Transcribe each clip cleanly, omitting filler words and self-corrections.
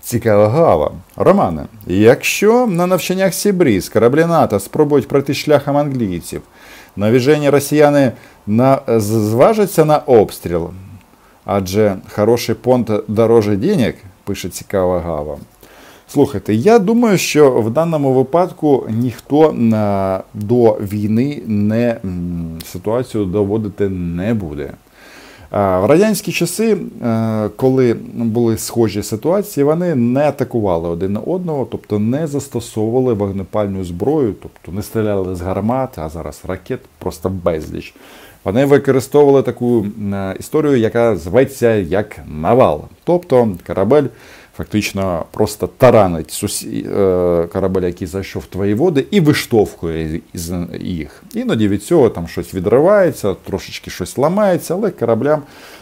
Цікава гава. Романе, якщо на навчаннях Сібріз кораблі НАТО спробують пройти шляхом англійців, навіжені росіяни зважаться на обстріл? Адже хороший понт дороже денег, пише цікава гава. Слухайте, я думаю, що в даному випадку ніхто до війни ситуацію доводити не буде. В радянські часи, коли були схожі ситуації, вони не атакували один одного, тобто не застосовували вогнепальну зброю, тобто не стріляли з гармат, а зараз ракет просто безліч. Вони використовували таку історію, яка зветься як навал. Тобто корабель фактично просто таранить корабель, який зайшов в твої води, і виштовхує їх. Іноді від цього там щось відривається, трошечки щось ламається, але кораблям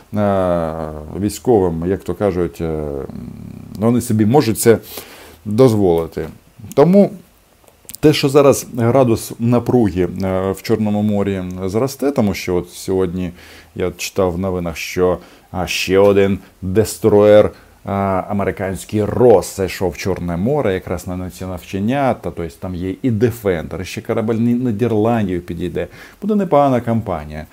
військовим, як то кажуть, вони собі можуть це дозволити. Тому те, що зараз градус напруги в Чорному морі зросте, тому що от сьогодні я читав в новинах, що ще один дестроєр американський Росс зайшов в Чорне море якраз на ці навчання, тобто там є і Дефендер, ще корабель Нідерландів підійде. Буде непогана кампанія.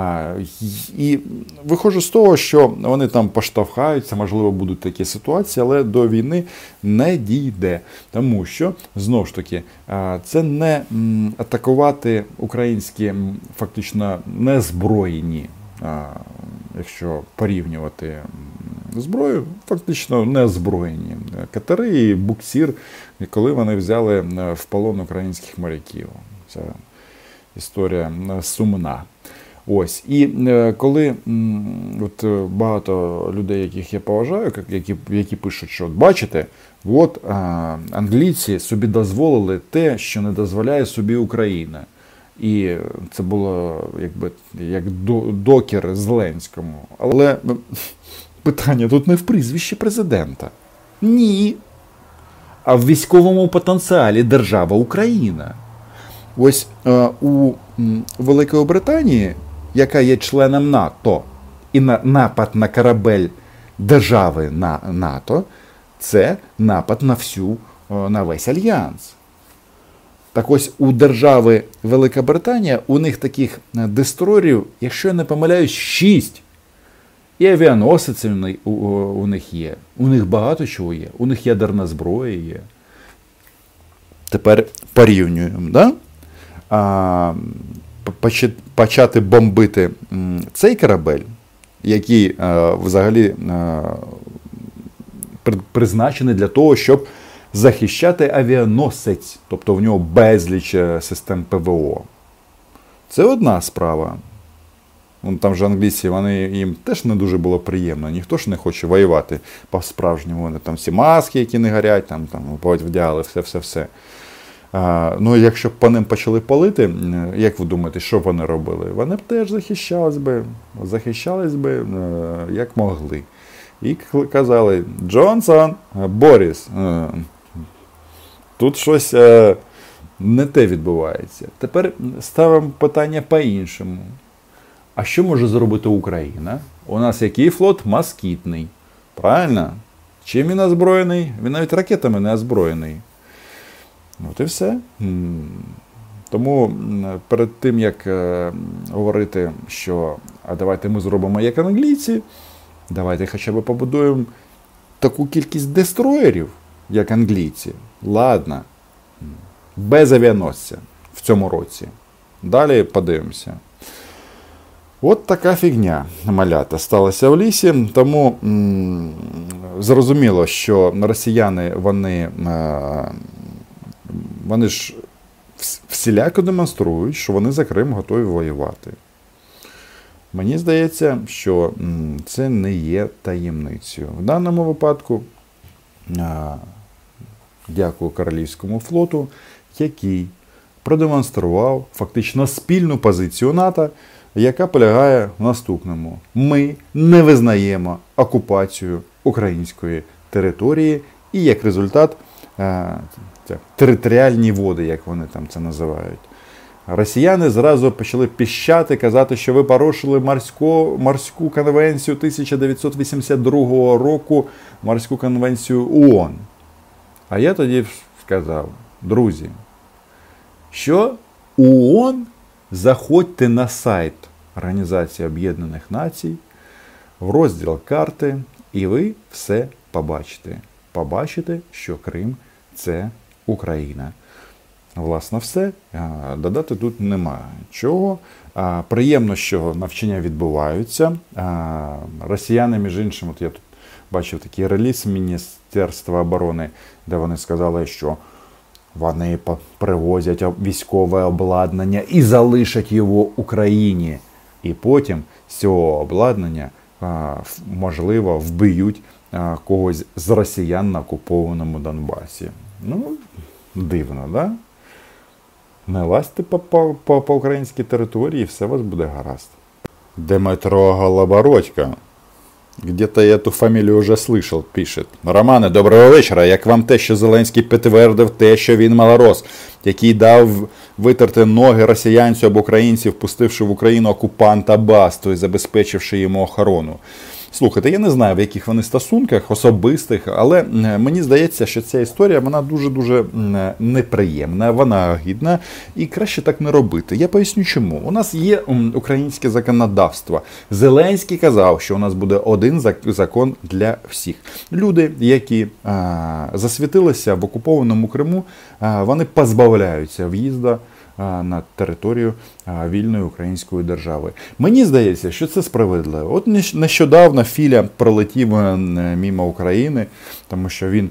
І виходжу з того, що вони там поштовхаються, можливо, будуть такі ситуації, але до війни не дійде. Тому що, знову ж таки, це не атакувати українські, фактично, незброєні, якщо порівнювати зброю, фактично неозброєні катери і буксир, коли вони взяли в полон українських моряків. Це історія сумна. Ось. І коли от багато людей, яких я поважаю, які пишуть, що бачите, от англійці собі дозволили те, що не дозволяє собі Україна. І це було як докір Зеленському. Але питання тут не в прізвищі президента. Ні. А в військовому потенціалі держава Україна. Ось у Великої Британії, яка є членом НАТО, і напад на корабель держави на НАТО, це напад на весь альянс. Так ось у держави Велика Британія, у них таких дестройерів, якщо я не помиляюсь, 6. І авіаносиці у них є. У них багато чого є. У них ядерна зброя є. Тепер порівнюємо. Да? Почати бомбити цей корабель, який взагалі призначений для того, щоб захищати авіаносець. Тобто в нього безліч систем ПВО. Це одна справа. Там же англійці, їм теж не дуже було приємно. Ніхто ж не хоче воювати по-справжньому. Вони там всі маски, які не горять, там вдягали, все. Ну, якщо б по ним почали палити, як ви думаєте, що б вони робили? Вони б теж захищались би, як могли. І казали: Джонсон, Боріс, тут щось не те відбувається. Тепер ставимо питання по-іншому. А що може зробити Україна? У нас який флот? Москітний. Правильно? Чим він озброєний? Він навіть ракетами не озброєний. От і все. Тому перед тим, як говорити, що а давайте ми зробимо як англійці, давайте хоча б побудуємо таку кількість дестроєрів, як англійці. Ладно. Без авіаносця в цьому році. Далі подивимося. От така фігня, малята, сталася в лісі, тому зрозуміло, що росіяни, вони ж всіляко демонструють, що вони за Крим готові воювати. Мені здається, що це не є таємницею. В даному випадку дякую Королівському флоту, який продемонстрував фактично спільну позицію НАТО, яка полягає в наступному. Ми не визнаємо окупацію української території і, як результат, територіальні води, як вони там це називають. Росіяни зразу почали піщати, казати, що ви порушили морську конвенцію 1982 року, морську конвенцію ООН. А я тоді сказав, друзі, що ООН, заходьте на сайт Організації Об'єднаних Націй, в розділ карти, і ви все побачите. Побачите, що Крим – це Україна. Власне, все. Додати тут нема чого. Приємно, що навчання відбуваються. Росіяни, між іншим, от я тут бачив такий реліз Міністерства оборони, де вони сказали, що вони привозять військове обладнання і залишать його Україні. І потім з цього обладнання, можливо, вб'ють когось з росіян на окупованому Донбасі. Ну, дивно, да? Не лазьте по українській території, і все у вас буде гаразд. Дмитро Голобородько. Где-то я эту фамілію вже слышал, пише. Романе, доброго вечора. Як вам те, що Зеленський підтвердив те, що він малорос, який дав витерти ноги росіянцю або українців, впустивши в Україну окупанта Басту і забезпечивши йому охорону? Слухайте, я не знаю, в яких вони стосунках, особистих, але мені здається, що ця історія, вона дуже-дуже неприємна, вона гідна, і краще так не робити. Я поясню чому. У нас є українське законодавство. Зеленський казав, що у нас буде один закон для всіх. Люди, які засвітилися в окупованому Криму, вони позбавляються в'їзду на територію вільної української держави. Мені здається, що це справедливо. От нещодавно Філя пролетів мимо України, тому що він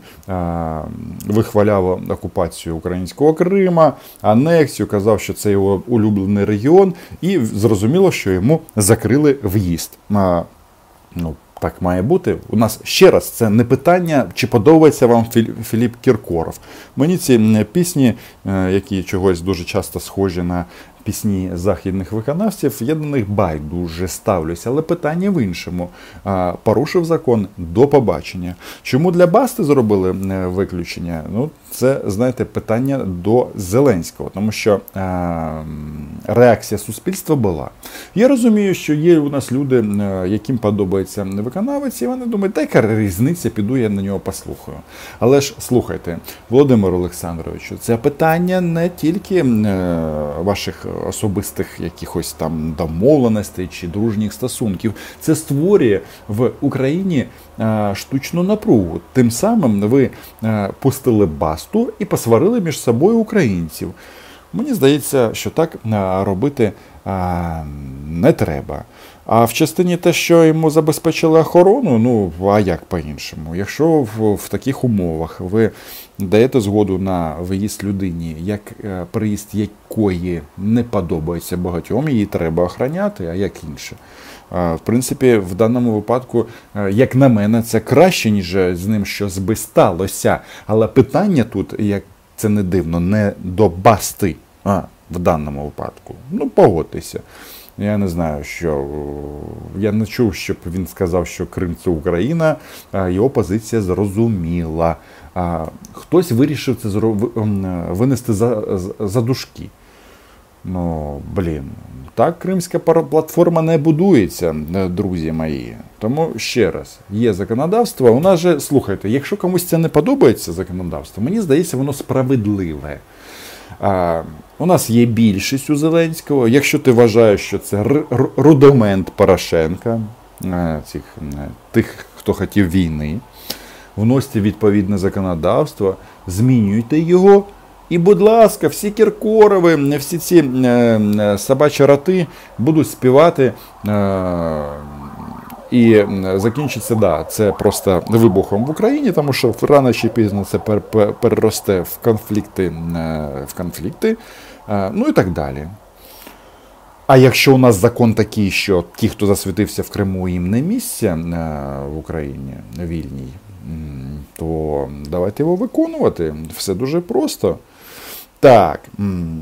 вихваляв окупацію українського Крима, анексію, казав, що це його улюблений регіон, і зрозуміло, що йому закрили в'їзд. Ну, так має бути. У нас, ще раз, це не питання, чи подобається вам Філіп Кіркоров. Мені ці пісні, які чогось дуже часто схожі на пісні західних виконавців, я до них байдуже ставлюся. Але питання в іншому. Порушив закон, до побачення. Чому для Басти зробили виключення? Ну, це, знаєте, питання до Зеленського, тому що реакція суспільства була. Я розумію, що є у нас люди, яким подобається виконавець, і вони думають, та яка різниця, піду я на нього послухаю. Але ж, слухайте, Володимир Олександровичу, це питання не тільки ваших особистих якихось там домовленостей чи дружніх стосунків. Це створює в Україні штучну напругу. Тим самим ви пустили Басту і посварили між собою українців. Мені здається, що так робити не треба. А в частині те, що йому забезпечили охорону, ну, а як по-іншому? Якщо в таких умовах ви даєте згоду на виїзд людині, як приїзд якої не подобається багатьом, її треба охороняти, а як інше? В принципі, в даному випадку, як на мене, це краще, ніж з ним щось би сталося. Але питання тут, як це не дивно, не до Басти, в даному випадку. Ну, погодьтеся. Я не знаю, що... Я не чув, щоб він сказав, що Крим – це Україна. Його позиція зрозуміла. Хтось вирішив це винести за дужки. Ну, блін. Так кримська платформа не будується, друзі мої. Тому, ще раз, є законодавство. У нас же, слухайте, якщо комусь це не подобається законодавство, мені здається, воно справедливе. У нас є більшість у Зеленського. Якщо ти вважаєш, що це рудимент Порошенка, тих, хто хотів війни, вносьте відповідне законодавство, змінюйте його. І, будь ласка, всі Кіркорови, всі ці собачі роти будуть співати. І закінчиться, да, це просто вибухом в Україні, тому що рано чи пізно це переросте в конфлікти, ну і так далі. А якщо у нас закон такий, що ті, хто засвітився в Криму, їм не місце в Україні вільній, то давайте його виконувати. Все дуже просто. Так.